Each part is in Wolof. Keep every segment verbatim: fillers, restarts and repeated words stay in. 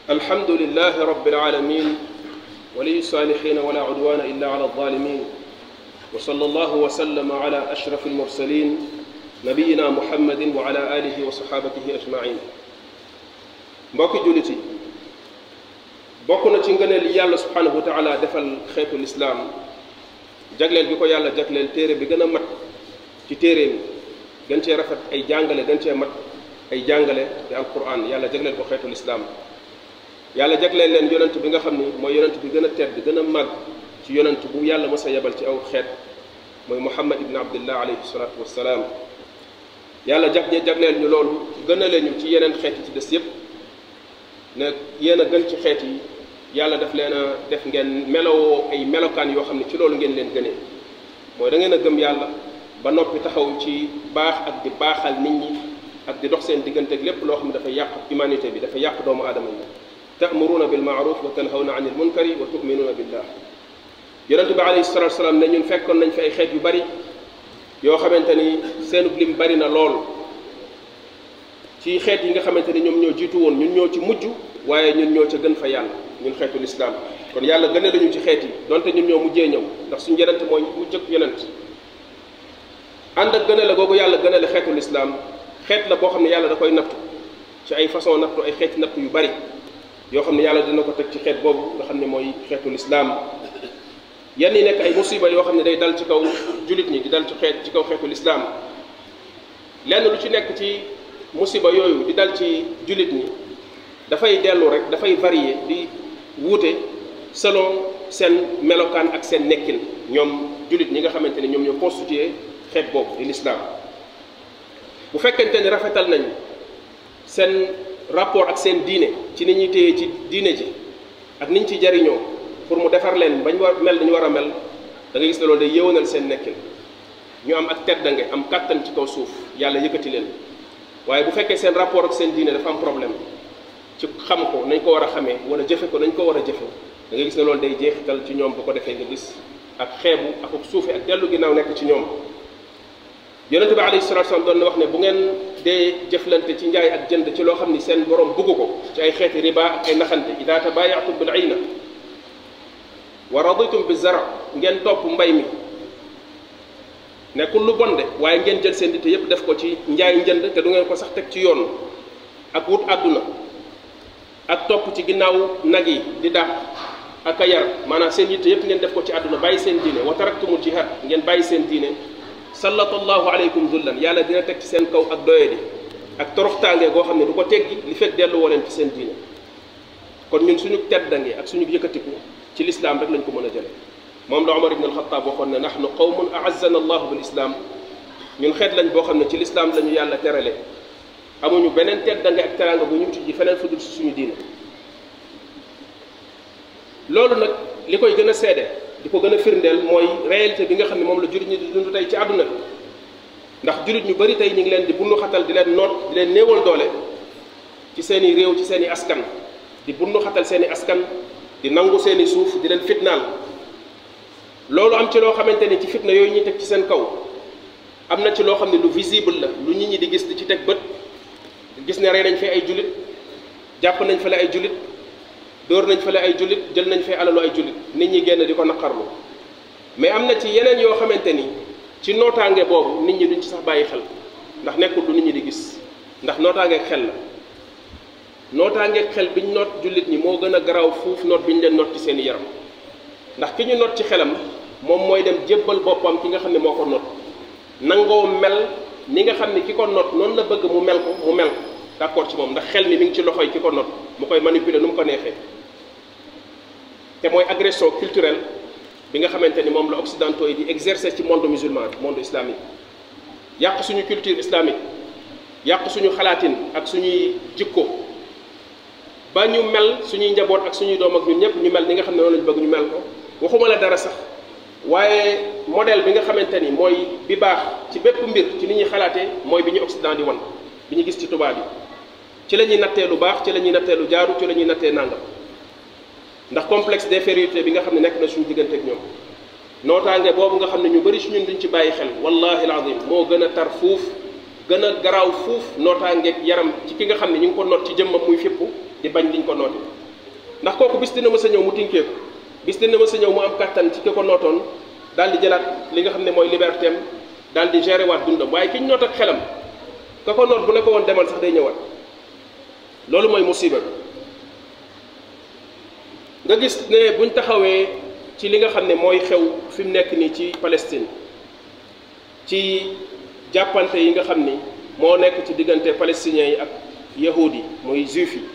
الحمد لله رب العالمين ولي الصالحين ولا عدوان إلا على الظالمين وصلى الله وسلم على أشرف المرسلين نبينا محمد وعلى آله وصحابته أجمعين. mbokki jullit yi bokk na ci ngëneel li yàlla subhanahu wa taala defal xeetu lislaam jagleel bi ko yàlla jagleel téere bi gën a mat ci téere mi gën cee rafet ay jàngale gën cee mat ay jàngale di alquran yàlla jagleel ko xeetu lislaam yàlla jagleel leen yonent bi nga xam ni mooy yonent bi gën a tedd gën a màgg ci yonent bu yàlla mës a yebal ci aw xeet mooy muhammad ibn abdillah alayhi salatu wassalaam yàlla jag jagleel ñu loolu gën a leen ñu ci yeneen xeet yi ci des yépp ne yéen a gën ci xeet yi yàlla daf leen a def ngeen melowoo ay melokaan yoo xam ne ci loolu ngeen leen gënee mooy da ngeen a gëm yàlla ba noppi taxaw ci baax ak di baaxal nit ñi ak di dox seen diggante ak lépp loo xam ne dafa yàq humanité bi dafa yàq doomu aadama yi ta'muruna bil ma'ruf wa tanhawna 'anil munkari wa tu'minuna billah yonente bi alayhi salatu wasalaam ne ñun fekkoon nañ fi ay xeet yu bari yoo xamante ni seenub lim bari na lool ci xeet yi nga xamante ni ñoom ñoo jiitu woon ñun ñoo ci mujj waaye ñun ñoo ca gën fa yàlla ñun xeetu lislaam kon yàlla gëne lañu ci xeet yi donte ñun ñoo mujjee ñëw ndax suñu yonent mooy mu jëkk yonent ànd ak gëne la googu yàlla gëne la xeetu lislaam xeet la boo xam ne yàlla da koy nattu ci ay façon nattu ay xeeti nattu yu bari yoo xam ne yàlla dina ko teg ci xeet boobu nga xam ne mooy xeetu lislaam yenn yi nekk ay musiba yoo xam ne day dal ci kaw jullit ñi di dal ci xeet ci kaw xeetu lislaam lenn lu ci nekk ci musiba yooyu di dal ci jullit ñi dafay dellu rek dafay varier di wuute selon seen melokaan ak seen nekkin ñoom jullit ñi nga xamante ni ñoom ñoo constitué xeet boobu di lislaam bu fekkente ni rafetal nañ seen rapport ak seen diine ci ni ñuy téye ci diine ji ak niñ ci jariñoo pour mu defar leen bañ war mel dañu war a mel da ngay gis ne loolu day yëwanal seen nekkin ñu am ak teddange am kàttan ci kaw suuf yàlla yëkkati leen waaye bu fekkee seen rapport ak seen diine dafa am problème ci xam ko nañ ko war a xamee wala jëfe ko nañ ko war a jëfe da nga gis ne loolu day jeexital ci ñoom bu ko defee nga gis ak xeebu ak ak suufe ak dellu ginnaaw nekk ci ñoom yonente bi alayhi salatu wasallam doon na wax ne bu ngeen dee jëflante ci njaay ak jënd ci loo xam ni seen borom bugg ko ci ay xeeti riba ak ay naxante ida tabayatum bil ayna wa raditum bi zara ngeen topp mbay mi nekkul lu bon de waaye ngeen jël seen dite yépp def ko ci njaay njënd te du ngeen ko sax teg ci yoon ak wut àdduna ak topp ci ginnaaw nag yi di dàq ak a yar maanaam seen yitte yépp ngeen def ko ci àdduna bàyyi seen diine wa taraktumul jihad ngeen bàyyi seen diine sallallahu alaykum zullan yàlla dina teg ci seen kaw ak doyadi ak toroxtaange goo xam ne du ko teggi li fekk dellu woo leen ci seen diine kon ñun suñu teddange ak suñu yëkkatiku ci lislaam rek lañ ko mën a jële moom la Umar ibn al-Khattab waxoon ne nahnu qawmun a'azzana allahu bil islam ñun xeet lañ boo xam ne ci lislaam lañu yàlla terale amuñu beneen teddange ak teranga bu ñu uti ji feneen fudul si suñu diine loolu nag li koy gën a seede di ko gën a firndeel mooy réalité bi nga xam ne moom la jullit ñi di dund tey ci àdduna bi ndax jullit ñu bari tey ñu ngi leen di bundu xatal di leen noot di leen néewal doole ci seen i réew ci seen i askan di bundu xatal seen i askan di nangu seen i suuf di leen fitnaal loolu am ci loo xamante ni ci fitna yooyu ñuy teg ci seen kaw am na ci loo xam ne lu visible la lu nit ñi di gis di ci teg bët gis ne rey nañ fi ay jullit jàpp nañ fale ay jullit dóor nañ fale ay jullit jël nañ fi alalu ay jullit nit ñi génn di ko naqarlu mais am na ci yeneen yoo xamante ni ci nootaange boobu nit ñi duñ ci sax bàyyi xel ndax nekkul lu nit ñi di gis ndax nootaangeeg xel la nootaangeeg xel biñ noot jullit ñi moo gën a garaaw fuuf noot biñ leen noot ci seen yaram ndax ki ñu noot ci xelam moom mooy dem jébbal boppam ki nga xam ne moo ko noot nangoo mel ni nga xam ne ki ko noot noonu la bëgg mu mel ko mu mel ko d'accord ci moom ndax xel mi mi ngi ci loxoy ki ko noot mu koy manipuler nu mu ko neexee te mooy agression culturelle bi nga xamante ni moom la occidentaux yi di exercer ci monde musulman monde islamique yàq suñu culture islamique yàq suñu xalaatin ak suñuy jikko ba ñu mel suñuy njaboot ak suñuy doom ak ñun ñëpp ñu mel ni nga xam ne noonu lañu bëgg ñu mel ko waxuma la dara sax waaye modèle bi nga xamante ni mooy bi baax ci bépp mbir ci ni ñuy xalaatee mooy bi ñu occident di wan bi ñu gis ci tubaab yi ci la ñuy nattee lu baax ci la ñuy nattee lu jaaru ci la ñuy nattee nàngam ndax complexe d'infériorité bi nga xam ne nekk na suñu diggante ak ñoom nootaange boobu nga xam ne ñu bari si ñun duñ ci bàyyi xel wallahi alazim moo gën a tar fuuf gën a garaaw fuuf nootaangeeg yaram ci ki nga xam ne ñu ngi ko noot ci jëmmam muy fippu di bañ liñ ko noote ndax kooku bis dina mës a ñëw mu tinkeeku bis dina mës a ñëw mu am kattan ci ki ko nootoon daal di jëlaat li nga xam ne mooy liberté am daal di gérer waat dundam waaye ki ñu noot ak xelam ka ko noot bu ne ko woon demal sax day ñëwaat loolu mooy musiba nga gis ne buñ taxawee ci li nga xam ne mooy xew fi mu nekk nii ci Palestine ci jàppante yi nga xam ni moo nekk ci diggante palestiniens yi ak yahudi yi muy juif yi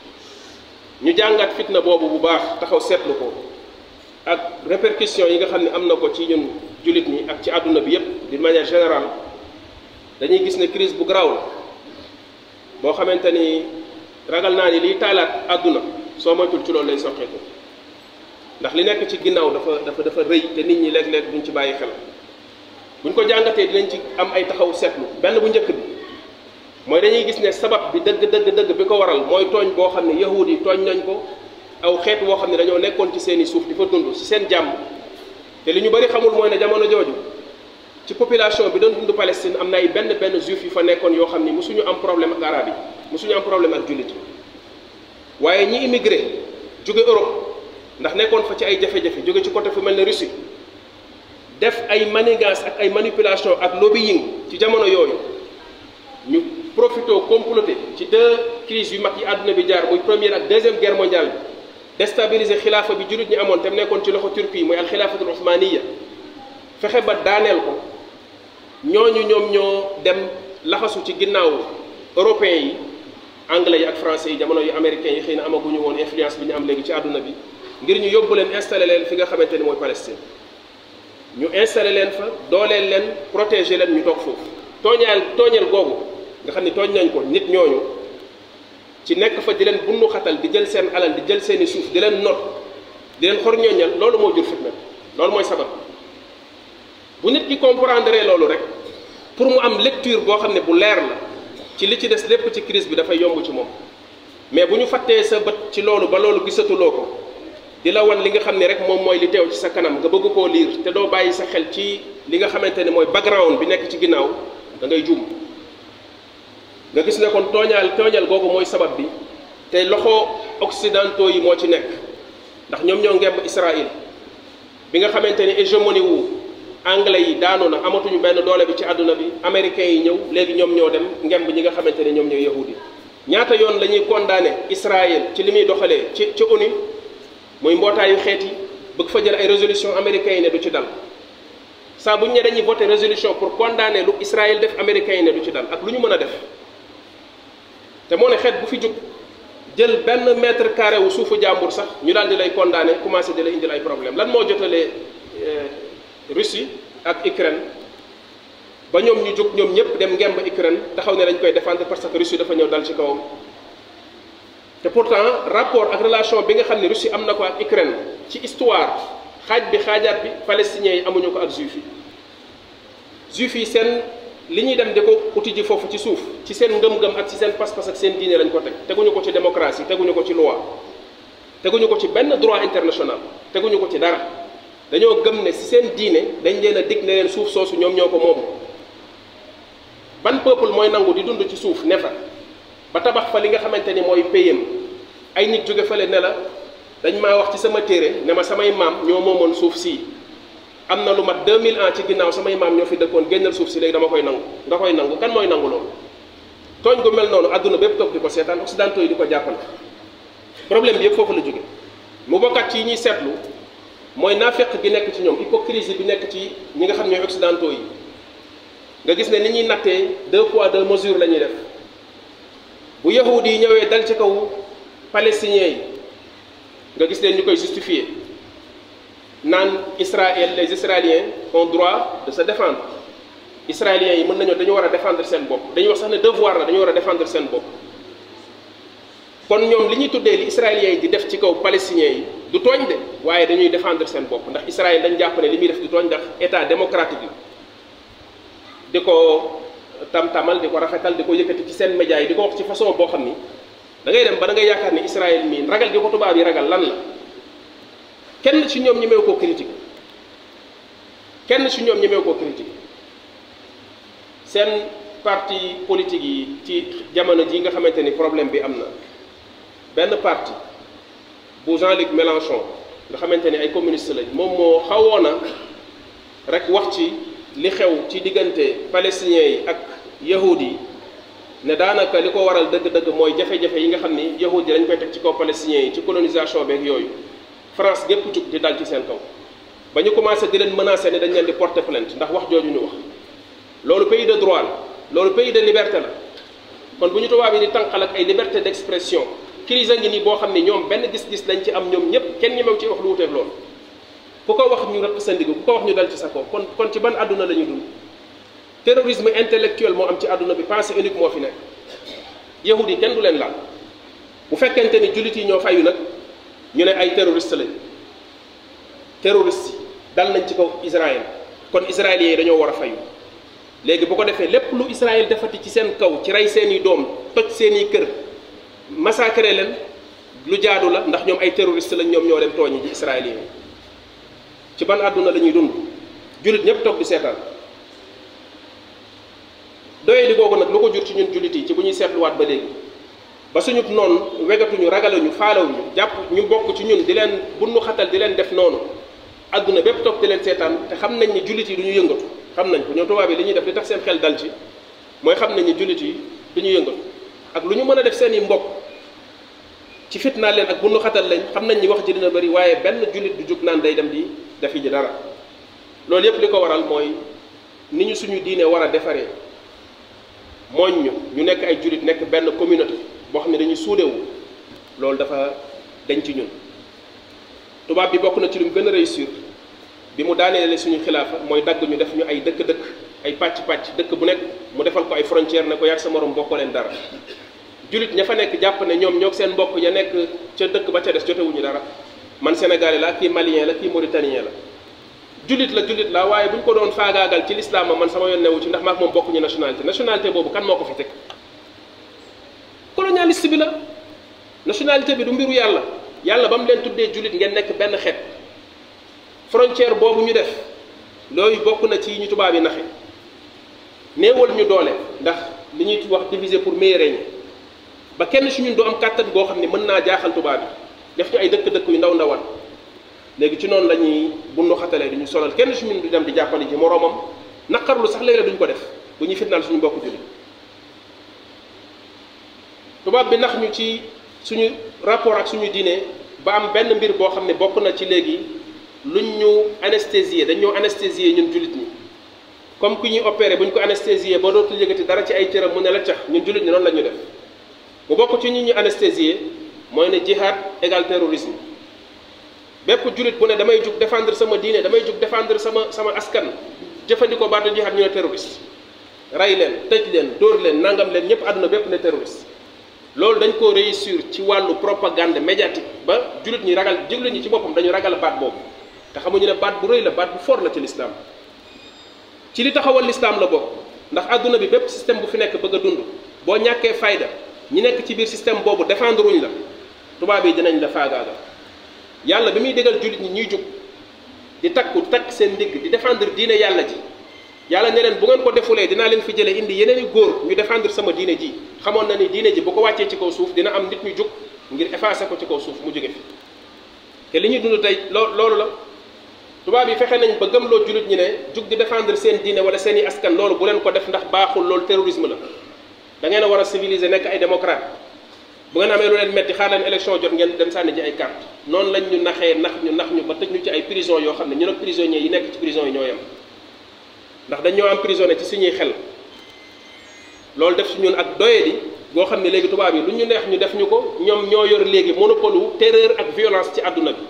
ñu jàngat fitna boobu bu baax taxaw seetlu ko ak répercussions yi nga xam ne am na ko ci ñun jullit ñi ak ci àdduna bi yépp d'une manière générale dañuy gis ne crise bu garaaw la boo xamante ni ragal naa ni liy taalaat àdduna soo moytul ci loolu lay soqeeku ndax li nekk ci ginnaaw dafa dafa dafa rëy te nit ñi léeg-léeg duñ ci bàyyi xel buñ ko jàngatee dinañ ci am ay taxaw seetlu benn bu njëkk bi mooy dañuy gis ne sabab bi dëgg dëgg dëgg bi ko waral mooy tooñ boo xam ne yahud yi tooñ nañ ko aw xeet woo xam ne dañoo nekkoon ci seeni suuf di fa dund ci seen jàmm te li ñu bari xamul mooy ne jamono jooju ci population bi doon dund Palestine am na ay benn benn juif yu fa nekkoon yoo xam ni mosuñu am problème ak arab yi mosuñu am problème ak jullit yi waaye ñi immigré jóge Europe ndax nekkoon fa ci ay jafe-jafe jóge ci côté fu mel ne Russie def ay manigance ak ay manipulation ak lobbying ci jamono yooyu ñu profité comploté ci deux crises yu mag yi àdduna bi jaar muy première ak deuxième guerre mondiale bi déstabiliser xilaafa bi jullit ñi amoon te mu nekkoon ci loxo Turquie muy alxilaafatul osmaniya fexe ba daaneel ko ñooñu ñoom ñoo dem laxasu ci ginnaaw européens yi anglais yi ak français yi jamono yu américains yi xëy na amaguñu woon influence bi ñu am léegi ci àdduna bi ngir ñu yóbbu leen installé leen fi nga xamante ni mooy Palestine ñu installé leen fa dooleel leen protéger leen ñu toog foofu tooñaal tooñeel googu nga xam ni tooñ nañ ko nit ñooñu ci nekk fa di leen bunnu xatal di jël seen alal di jël seeni suuf di leen not di leen xor ñooñal loolu moo jur fitna loolu mooy sabab bu nit ki comprendre loolu rek pour mu am lecture boo xam ne bu leer la ci li ci des lépp ci crise bi dafay yomb ci moom mais bu ñu fàttee sa bët ci loolu ba loolu gisatuloo ko di la wan li nga xam ne rek moom mooy li teew ci sa kanam nga bëgg koo liir te doo bàyyi sa xel ci li nga xamante ne mooy background bi nekk ci ginnaaw da ngay juum nga gis ne kon tooñaal tooñal googu mooy sabab bi te loxo occidentaux yi moo ci nekk ndax ñoom ñoo ngemb Israël bi nga xamante ni hégémonie wu anglais yi daanu na amatuñu benn doole bi ci àdduna bi américains yi ñëw léegi ñoom ñoo dem ngemb ñi nga xamante ne ñoom ñooy yahudi ñaata yoon la ñuy condamné Israël ci li muy doxalee ci ci ONU muy mbootaayu xeet yi bëgg fa jël ay résolution américains yi ne du ci dal saa bu ñu ne dañuy voté résolution pour condamner lu Israël def américains yi ne du ci dal ak lu ñu mën a def te moo ne xeet bu fi jóg jël benn mètre carré wu suufu jàmbur sax ñu daal di lay condamné commencé di lay indil ay problème lan moo jotalee Russie ak Ukraine ba ñoom ñu jóg ñoom ñëpp dem ngemb Ukraine taxaw ne dañ koy défendre parce que Russie dafa ñëw dal ci kawam te pourtant rapport ak relation bi nga xam ne Russie am na ko ak Ukraine ci histoire xaaj bi xaajaat bi palestiniens yi amuñu ko ak juif yi juif yi seen li ñuy dem di ko uti ji foofu ci suuf ci seen ngëm-ngëm ak ci seen pas-pas ak seen diine lañ ko teg teguñu ko ci démocratie teguñu ko ci loi teguñu ko ci benn droit international teguñu ko ci dara dañoo gëm ne ci seen diine dañ leen a dig ne leen suuf soosu ñoom ñoo ko moom ban peuple mooy nangu di dund ci suuf ne fa ba tabax fa li nga xamante ni mooy payam ay nit jóge fale ne la dañ maa wax ci sama téere ne ma samay maam ñoo moomoon suuf sii am na lu mat deux mille ans ci ginnaaw samay maam ñoo fi dëkkoon génnal suuf si léegi dama koy nangu nga koy nangu kan mooy nangu loolu tooñ gu mel noonu àdduna bépp toog di ko seetaan occidentaux yi di ko jàppal problème bi yëpp foofu la jóge mu bokkat ci yi ñuy seetlu mooy naafeq gi nekk ci ñoom hypocrisie bi nekk ci ñi nga xam ñooy occidentaux yi nga gis ne ni ñuy nattee deux poids deux mesures la ñuy def bu yahudi yi ñëwee dal ci kaw palestiniens yi nga gis leen ñu koy justifier naan Israël les Israéliens ont droit de se défendre israéliens yi mën nañoo dañu war a défendre seen bopp dañuy wax sax ne devoir la dañu war a défendre seen bopp kon ñoom li ñuy tuddee li israéliens yi di def ci kaw palestiniens yi du tooñ de waaye dañuy défendre seen bopp ndax Israël dañ jàpp ne li muy def du tooñ ndax état démocratique la di ko tam-tamal di ko rafetal di ko yëkkati ci seen médias yi di ko wax ci façon boo xam ni da ngay dem ba da ngay yaakaar ni Israël mii ragal gi ko tubaab yi ragal lan la kenn ci ñoom ñemeewu koo critique kenn ci ñoom ñemeewu koo critique seen parti politique yi ci jamono ji nga xamante ni problème bi am na benn parti bu Jean-Luc Mélenchon nga xamante ni ay communiste lañ moom moo xawoon a rek wax ci li xew ci diggante palestiniens yi ak yahud yi ne daanaka li ko waral dëgg-dëgg mooy jafe-jafe yi nga xam ni yahud yi dañ koy teg ci kaw palestiniens yi ci colonisation beeg yooyu France gépp jug di dal ci seen kaw ba ñu commencé di leen menacer ne dañ leen di porter plainte ndax wax jooju ñu wax loolu pays de droit la loolu pays de liberté la kon bu ñu tubaab yi di tànqal ak ay liberté d'expression crise a ngi nii boo xam ne ñoom benn gis-gis lañ ci am ñoom ñëpp kenn ñemew ci wax lu wuteeg loolu ku ko wax ñu rëq sa ndigg ku ko wax ñu dal ci sa kaw kon kon ci ban àdduna la ñuy dund terrorisme intellectuel moo am ci àdduna bi pensée unique moo fi nekk yahud yi kenn du leen laal bu fekkente ni jullit yi ñoo fayu nag ñu ne ay terroriste lañ terroriste yi dal nañ ci kaw Israël kon israéliens yi dañoo war a fayu léegi bu ko defee lépp lu Israël defati ci seen kaw ci rey seeni doom toj seeni kër massacré leen lu jaadu la ndax ñoom ay terroriste lañ ñoom ñoo dem tooñi ji israéliens yi ci ban àdduna la ñuy dund jullit ñëpp toog di seetaan doye di googu nag lu ko jur ci ñun jullit yi ci bu ñuy seetluwaat ba léegi ba suñu noonu wegatuñu ragaluñu faalawuñu jàpp ñu bokk ci ñun di leen bunnu xatal di leen def noonu àdduna bépp toog di leen seetaan te xam nañ ni jullit yi du ñu yëngatu xam nañ ko ñoom tubaab yi li ñuy def di tax seen xel dal ci mooy xam nañ ni jullit yi du ñu yëngatu ak lu ñu mën a def seen i mbokk ci fitnaal leen ak bunnu xatal lañ xam nañ ni wax ji dina bëri waaye benn jullit du jug naan day dem di defi ji dara loolu yépp li ko waral mooy ni ñu suñu diine war a defaree mooñ ñu ñu nekk ay jullit nekk benn communauté boo xam ne dañuy suudewu loolu dafa dañ ci ñun tubaab bi bokk na ci lu mu gën a réussir bi mu daaneele suñu xilaafa mooy dagg ñu def ñu ay dëkk-dëkk ay pàcc-pàcc dëkk bu nekk mu defal ko ay frontière ne ko yàgg sa morom bokkoo leen dara jullit ña fa nekk jàpp ne ñoom ñoo seen mbokk ya nekk ca dëkk ba ca des jotewuñu dara man sénégalais la kii malien la kii mauritanien la jullit la jullit la waaye bu ñu ko doon faagaagal ci l'islam man sama yoon newu ci ndax maak moom bokkuñu nationalité nationalité boobu kan moo ko fi teg colonialiste bi la nationalité bi du mbiru yàlla yàlla ba mu leen tuddee jullit ngeen nekk benn xeet frontière boobu ñu def loolu bokk na ci ñu tubaab yi naxe néewal ñu doole ndax li ñuy wax diviser pour mieux régner ba kenn si ñun du am kàttan goo xam ne mën naa jaaxal tubaab yi def ñu ay dëkk-dëkk yu ndaw ndawal léegi ci noonu la ñuy bundu xatalee du ñu solal kenn si ñun du dem di jàppale ji moroomam naqarlu sax léeg-léeg duñ ko def bu ñuy fitnaal suñu mbokk jullit tubaab bi nax ñu ci suñu rapport ak suñu diine ba am benn mbir boo xam ne bokk na ci léegi luñ ñu anesthésier dañ ñoo anesthésier ñun jullit ñi comme ku ñuy opéré bu ñu ko anesthésier ba dootul yëgati dara ci ay cëram mu ne la cax ñun jullit ñi noonu la ñu def mu bokk ci ñi ñu anesthésier mooy ne jihad égal terrorisme bépp jullit bu ne damay jug défendre sama diine damay jug défendre sama sama askan jëfandikoo baatu jihad ñu ne terroriste rey leen tëj leen dóor leen nangam leen ñëpp àdduna bépp ne terroriste loolu dañ ko réussir ci wàllu propagande médiatique ba jullit ñi ragal jullit ñi ci boppam dañu ragal baat boobu te xamuñu ne baat bu rëy la baat bu fort la ci l'islam ci li taxawal l'islam la bokk ndax àdduna bi bépp système bu fi nekk bëgg a dund boo ñàkkee fayda ñi nekk ci biir système boobu défendre wuñ la tubaab yi dinañ la faagaagal yàlla bi muy dégal jullit ñi ñuy jug di takku takk seen ndigg di défendre diine yàlla ji yàlla ne leen bu ngeen ko defulee dinaa leen fi jëlee indi yeneen i góor ñu défendre sama diine ji xamoon na ni diine ji bu ko wàccee ci kaw suuf dina am nit ñu jug ngir effacer ko ci kaw suuf mu jóge fi te li ñuy dund tey loo loolu la tubaab yi fexe nañ ba gëmloo jullit ñi ne jug di défendre seen diine wala seen i askan loolu bu leen ko def ndax baaxul loolu terrorisme la da ngeen a war a civiliser nekk ay démocrate bu ngeen amee lu leen metti xaar leen élection jot ngeen dem sànni ji ay carte noonu lañ ñu naxee nax ñu nax ñu ba tëj ñu ci ay prison yoo xam ne ñu nag prisonniers yi nekk ci prison yi ñoo yem ndax dañ ñoo emprisonné ci suñuy xel loolu def si ñun ak doyadi goo xam ne léegi tubaab yi lu ñu neex ñu def ñu ko ñoom ñoo yor léegi monopole wu terreur ak violence ci àdduna bi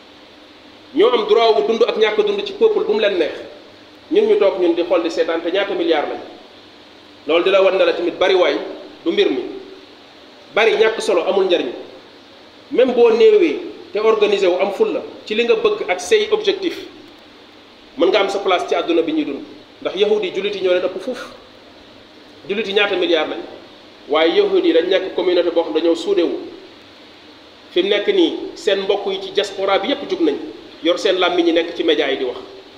ñoo am droit wu dund ak ñàkk dund ci peuple bu mu leen neex ñun ñu toog ñun di xool di seetaan te ñaata milliards lañ loolu di la wan ne la tamit bari waay du mbir mi bari ñàkk solo amul njariñ même boo néewee te organisé wu am ful la ci li nga bëgg ak say objectif mën nga am sa place ci àdduna bi ñuy dund ndax yahudi yi jullit yi ñoo leen ëpp fuuf jullit yi ñaata milliards lañ waaye yahudi yi dañ nekk communauté boo xam dañoo suudewu fi mu nekk nii seen mbokk yi ci diaspora bi yépp jug nañ yor seen làmmiñ ñi nekk ci média yi di wax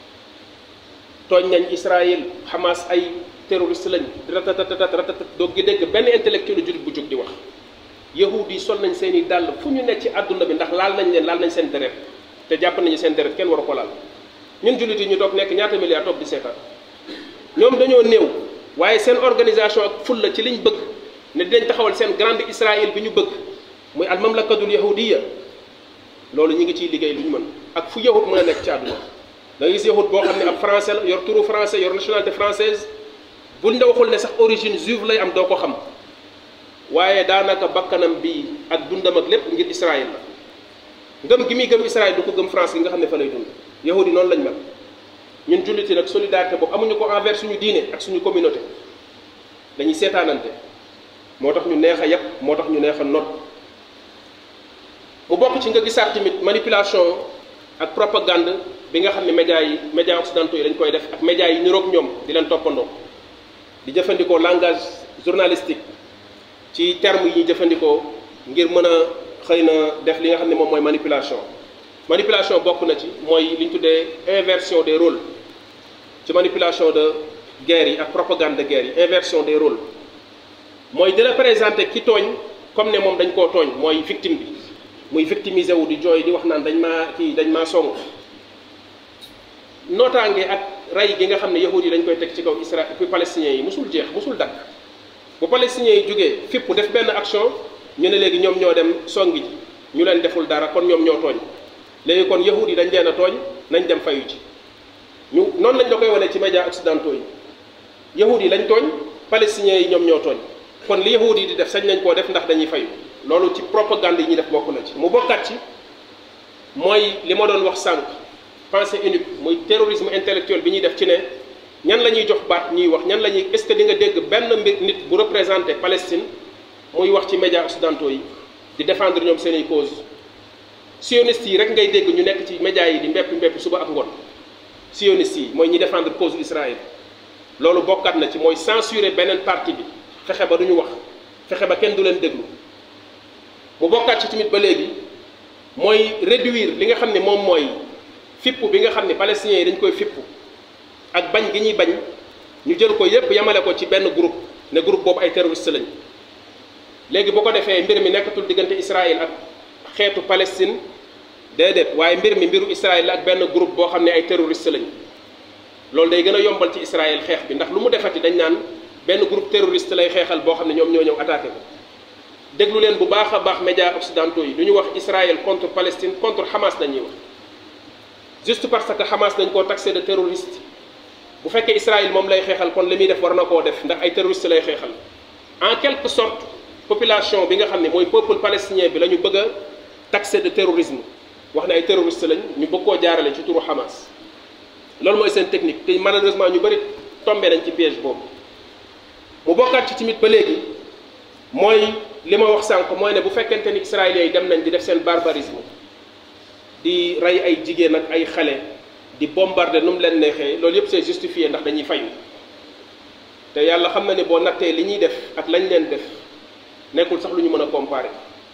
tooñ nañ Israël Hamas ay terroriste lañ ratatatat ratatat doo gi dégg benn intellectuel jullit bu jug di wax yahudi yi sol nañ seen i dàll fu ñu nekk ci àdduna bi ndax laal nañ leen laal nañ seen deret te jàpp nañu seen deret kenn waru ko laal ñun jullit yi ñu toog nekk ñaata milliards toog di seetaan ñoom dañoo néew waaye seen organisation ak fulla ci liñ bëgg ne dinañ taxawal seen grande Israël bi ñu bëgg muy al mamlakatul yahudiya loolu ñu ngi ciy liggéey lu ñu mën ak fu yahud mën a nekk ci àdduna da nga gis yahud boo xam ne ab français la yor turu français yor nationalité française buñ la waxul ne sax origine juive lay am doo ko xam waaye daanaka bakkanam bi ak dundam ak lépp ngir Israël la ngëm gi muy gëm Israël du ko gëm France gi nga xam ne fa lay dund yahud yi noonu lañ mel ñun jullit yi nag solidarité boobu amuñu ko envers suñu diine ak suñu communauté dañuy seetaanante moo tax ñu neex a yàpp moo tax ñu neex a not mu bokk ci nga gisaat tamit manipulation ak propagande bi nga xam ne médias yi médias occidentaux yi dañ koy def ak médias yi niroog ñoom di leen toppandoo di jëfandikoo langage journalistique ci terme yi ñuy jëfandikoo ngir mën a xëy na def li nga xam ne moom mooy manipulation manipulation bokk na ci mooy li ñu tuddee inversion des rôles ci manipulation de guerre yi ak propagande de guerre yi inversion des rôles mooy di la présenter ki tooñ comme ne moom dañ koo tooñ mooy victime bi muy victimiser wu di jooy di wax naan dañ maa kii dañ maa song nootaange ak rey gi nga xam ne yahud yi dañ koy teg ci kaw Israël puis palestiniens yi musul jeex musul dakk bu palestiniens yi jógee fipp def benn action ñu ne léegi ñoom ñoo dem songi ji ñu leen deful dara kon ñoom ñoo tooñ léegi kon yahud yi dañ leen a tooñ nañ dem fayu ci ñu noonu lañ la koy wane ci médias occidentaux yi yahud yi lañ tooñ palestiniens yi ñoom ñoo tooñ kon li yahud yi di def sañ nañ koo def ndax dañuy fayu loolu ci propagande yi ñuy def bokk na ci mu bokkaat ci mooy li ma doon wax sànq pensée unique muy terrorisme intellectuel bi ñuy def ci ne ñan la ñuy jox baat ñuy wax ñan la ñuy est-ce que di nga dégg benn mbir nit bu représenté Palestine muy wax ci médias occidentaux yi di défendre ñoom seen i cause sionistes yi rek ngay dégg ñu nekk ci médias yi di mbepp mbepp suba ak ngoon sionistes yi mooy ñi défendre cause Israël loolu bokkaat na ci mooy censurer beneen partie bi fexe ba du ñu wax fexe ba kenn du leen déglu mu bokkaat ci tamit ba léegi mooy réduire li nga xam ne moom mooy fippu bi nga xam ne palestiniens yi dañ koy fippu ak bañ gi ñuy bañ ñu jël ko yépp yamale ko ci benn groupe ne groupe boobu ay terroriste lañ léegi bu ko defee mbir mi nekkatul diggante Israël ak xeetu Palestine déedéet waaye mbir mi mbiru Israël la ak benn groupe boo xam ne ay terroriste lañ loolu day gën a yombal ci Israël xeex bi ndax lu mu defati dañ naan benn groupe terroriste lay xeexal boo xam ne ñoom ñoo ñëw attaqué ko déglu leen bu baax a baax médias occidentaux yi du ñu wax Israël contre Palestine contre Hamas dañuy wax juste parce que Hamas dañ koo taxé de terroriste bu fekkee Israël moom lay xeexal kon li muy def war na koo def ndax ay terroriste lay xeexal en quelque sorte population bi nga xam ne mooy peuple palestinien bi la ñu bëgg a taxé de terrorisme wax ne ay terroriste lañ ñu bëgg koo jaarale ci turu Hamas loolu mooy seen technique te malheureusement ñu bëri tombé nañ ci piège boobu mu bokkaat ci tamit ba léegi mooy li ma wax sànq mooy ne bu fekkente ni israéliens yi dem nañ di def seen barbarisme di rey ay jigéen ak ay xale di bombarder nu mu leen neexee loolu yëpp c'est justifié ndax dañuy fayu te yàlla xam na ne boo nattee li ñuy def ak lañ leen def nekkul sax lu ñu mën a comparer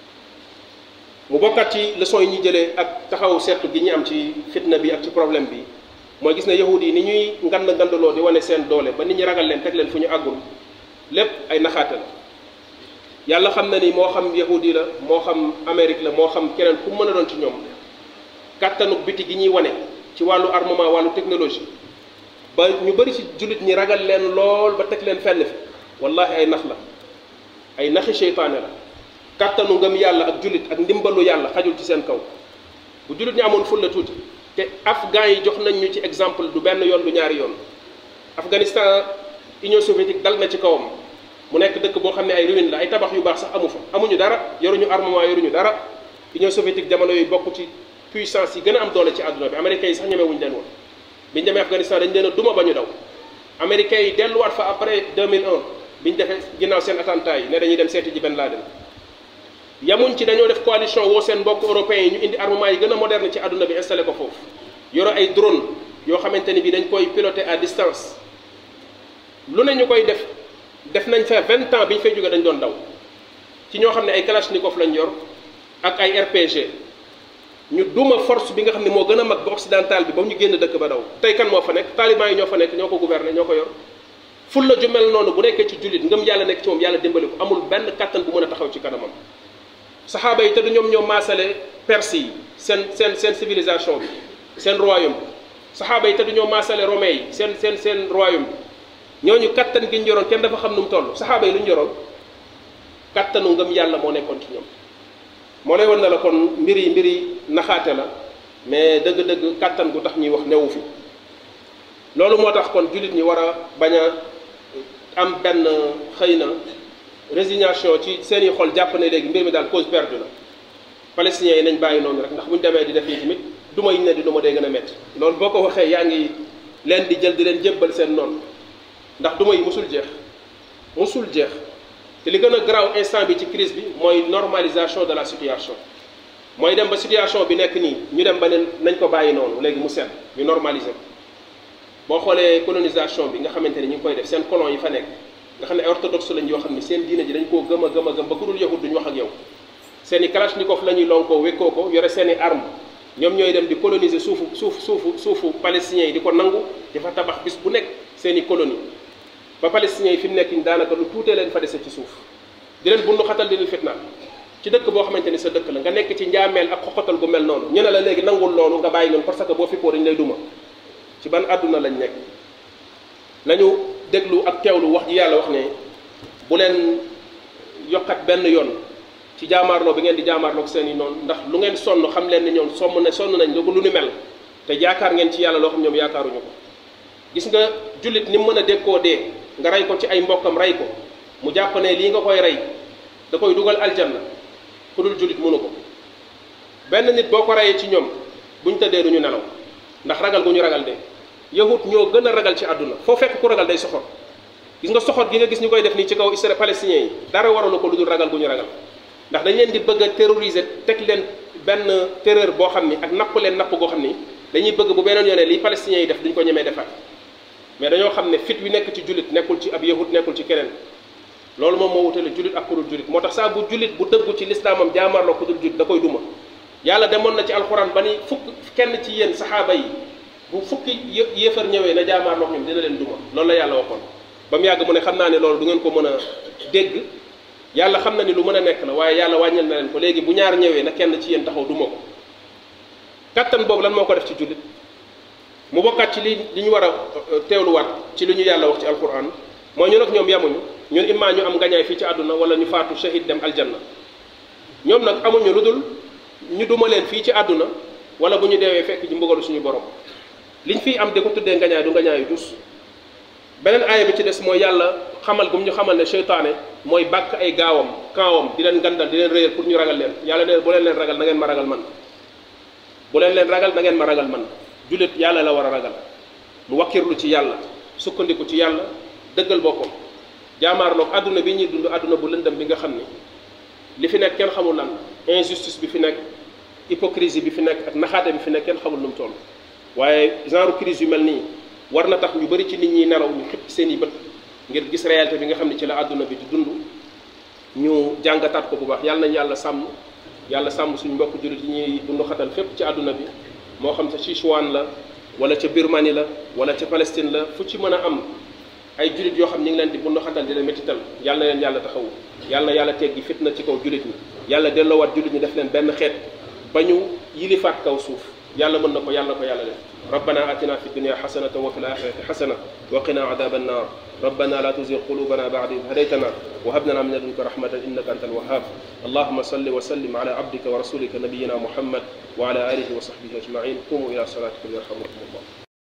mu bokkaat ci leçon yi ñuy jëlee ak taxaw seetlu gi ñu am ci fitna bi ak ci problème bi mooy gis ne yahud yi ni ñuy ngand ngandaloo di wane seen doole ba nit ñi ragal leen teg leen fu ñu àggul lépp ay naxaate la yàlla xam na ni moo xam yahud yi la moo xam Amérique la moo xam keneen ku mën a doon ci ñoom kàttanuk biti gi ñuy wane ci wàllu armement wàllu technologie ba ñu bëri ci jullit ñi ragal leen lool ba teg leen fenn fi wallahi ay nax la ay naxi seytaane la kàttanu ngëm yàlla ak jullit ak ndimbalu yàlla xajul ci seen kaw bu jullit ñi amoon ful la tuuti te afghans yi jox nañ ñu ci exemple du benn yoon du ñaari yoon Afghanistan Union soviétique dal na ci kawam mu nekk dëkk boo xam ne ay ruines la ay tabax yu baax sax amu fa amuñu dara yoruñu armement yoruñu dara Union soviétique jamono yooyu bokk ci puissance yi gën a am doole ci àdduna bi américains yi sax ñemewuñu leen woon biñu demee Afghanistan dañu leen a duma ba ñu daw américains yi delluwaat fa après deux mille un biñu defee ginnaaw seen attentat yi ne dañuy dem seeti ji Ben Laden yamuñ ci dañoo def coalition woo seen mbokk européens yi ñu indi armement yi gën a moderne ci àdduna bi installé ko foofu yoro ay drone yoo xamante ni bi dañ koy piloter à distance lu ne ñu koy def def nañ fa vingt ans bi ñu fay jóge dañ doon daw ci ñoo xam ne ay kalachnikov lañ yor ak ay R P G ñu duma force bi nga xam ne moo gën a mag ba occidental bi ba ñu génn dëkk ba daw tey kan moo fa nekk taliban yi ñoo fa nekk ñoo ko gouverner ñoo ko yor ful la ju mel noonu bu nekkee ci jullit ngëm yàlla nekk ci moom yàlla dimbali ko amul benn kattan bu mën a taxaw ci kanamam saxaaba yi te du ñoom ñoo maasale perse yi seen seen seen civilisation bi seen royaume bi saxaaba yi te du ñoo maasale romain yi seen seen seen royaume bi ñooñu kattan gi ñu yoroon kenn dafa xam nu mu toll saxaaba yi lu ñu yoroon kattanu ngëm yàlla moo nekkoon ci ñoom moo lay won na la kon mbir yi mbir yi naxaate la mais dëgg-dëgg kattan gu tax ñuy wax newu fi loolu moo tax kon jullit ñi war a bañ a am benn xëy na résignation ci seen i xol jàpp ne léegi mbir mi daal cause perdue la palestiniens yi nañ bàyyi noonu rek ndax bu ñu demee di def yi tamit duma yi ne di duma day gën a métti loolu boo ko waxee yaa ngi leen di jël di leen jébbal seen noonu ndax duma yi musul jeex musul jeex te li gën a garaaw instant bi ci crise bi mooy normalisation de la situation mooy dem ba situation bi nekk nii ñu dem ba ne nañ ko bàyyi noonu léegi mu set ñu normaliser ko boo xoolee colonisation bi nga xamante ni ñu ngi koy def seen colon yi fa nekk nga xam ne ay orthodoxe lañ yoo xam ni seen diine ji dañ koo gëm a gëm a gëm ba ku dul yahud duñu wax ak yow seen i kalachnikov la ñuy lonkoo wékkoo ko yore seen i arme ñoom ñooy dem di coloniser suufu suuf suufu suufu palestiniens yi di ko nangu di fa tabax bis bu nekk seen i colonie ba palestiniens yi fi mu nekk nii daanaka lu tuutee leen fa dese ci suuf di leen bundu xatal di leen fitnaal ci dëkk boo xamante ni sa dëkk la nga nekk ci njaameel ak xoxatal gu mel noonu ñu ne la léegi nangul loolu nga bàyyi noonu parce que boo fippoo dañu lay duma ci ban àdduna lañ nekk nañu déglu ak teewlu wax ji yàlla wax ne bu leen yokkat benn yoon ci jaamaarloo bi ngeen di jaamaarloo ak seen i noonu ndax lu ngeen sonn xam leen ne ñoom somm ne sonn nañ lu lu ni mel te yaakaar ngeen ci yàlla loo xam ñoom yaakaaruñu ko gis nga jullit ni mu mën a dékkoo dee nga rey ko ci ay mbokkam rey ko mu jàpp ne lii nga koy rey da koy dugal aljanna ku dul jullit mënu ko benn nit boo ko reyee ci ñoom buñ tëddee duñu nelaw ndax ragal gu ñu ragal de yahut ñoo gën a ragal ci àdduna foo fekk ku ragal day soxor gis nga soxor gi nga gis ñu koy def nii ci kaw Israël palestiniens yi dara waralu ko lu dul ragal gu ñu ragal ndax dañ leen di bëgg a terroriser teg leen benn terreur boo xam ni ak napp leen napp goo xam ni dañuy bëgg bu beneen yoonee li palestiniens yi def duñ ko ñemee defaat mais dañoo xam ne fit wi nekk ci jullit nekkul ci ab yahut nekkul ci keneen loolu moom moo wutale jullit ak ku dul jullit moo tax saa bu jullit bu dëggu ci lislaamam jaamarloo ku dul jullit da koy duma yàlla demoon na ci alxuraan ba ni fukk kenn ci yéen saxaaba yi bu fukki yéefar ñëwee na jaamaarloo ñoom dina leen duma loolu la yàlla waxoon ba mu yàgg mu ne xam naa ne loolu du ngeen ko mën a dégg yàlla xam na ni lu mën a nekk la waaye yàlla wàññil na leen ko léegi bu ñaar ñëwee na kenn ci yéen taxaw duma ko kattan boobu lan moo ko def ci jullit mu bokkaat ci li li ñu war a teewluwaat ci li ñu yàlla wax ci alquran mooy ñu nag ñoom yamuñu ñun immaa ñu am ngañaay fii ci àdduna wala ñu faatu shahid dem aljanna ñoom nag amuñu lu dul ñu duma leen fii ci àdduna wala bu ñu deewee fekk ci mbugalu suñu borom liñ fiy am di ko tuddee ngañaay du ngañaayu dus beneen aaya bi ci des mooy yàlla xamal gum ñu xamal ne seytaane mooy bàkk ay gaawam kaawam di leen gandal di leen réyal pour ñu ragal leen yàlla ne bu leen leen ragal na ngeen ma ragal man bu leen leen ragal na ngeen ma ragal man jullit yàlla la war a ragal mu wakkirlu ci yàlla sukkandiku ci yàlla dëggal boppam jaamaarloog àdduna bi ñuy dund àdduna bu lëndëm bi nga xam ni li fi nekk kenn xamul lan injustice bi fi nekk hypocrisie bi fi nekk ak naxaate bi fi nekk kenn xamul nu mu toll waaye genre crise yu mel nii war na tax ñu bëri ci nit ñi nelaw ñu xëpp seen i bët ngir gis réalité bi nga xam ne ci la àdduna bi di dund ñu jàngataat ko bu baax yàlla nañ yàlla sàmm yàlla sàmm suñu mbokk jullit yi ñuy dund xatal fépp ci àdduna bi moo xam ca Sichuan la wala ca Birmanie la wala ca Palestine la fu ci mën a am ay jullit yoo xam ñu ngi leen di bundu xatal di leen métital yàlla na leen yàlla taxawu yàlla na yàlla teggi fitna ci kaw jullit ñi yàlla delloowaat jullit ñi def leen benn xeet ba ñu yilifaat kaw suuf yàlla mën na ko yàlla na ko yàlla def rabbana atina fi dunya xasanatan wa fi laxirati xasana wa qina adaba annar rabbana la tuzigh qulubana ba'da idh hadaytana wa hab lana min ladunka rahmatan innaka antal wahhab allahumma salli wa sallim ala abdika wa rasulika nabiyyina muhammad wa ala alihi wa sahbihi ajma'in qumu ila salatikum yarhamukum allah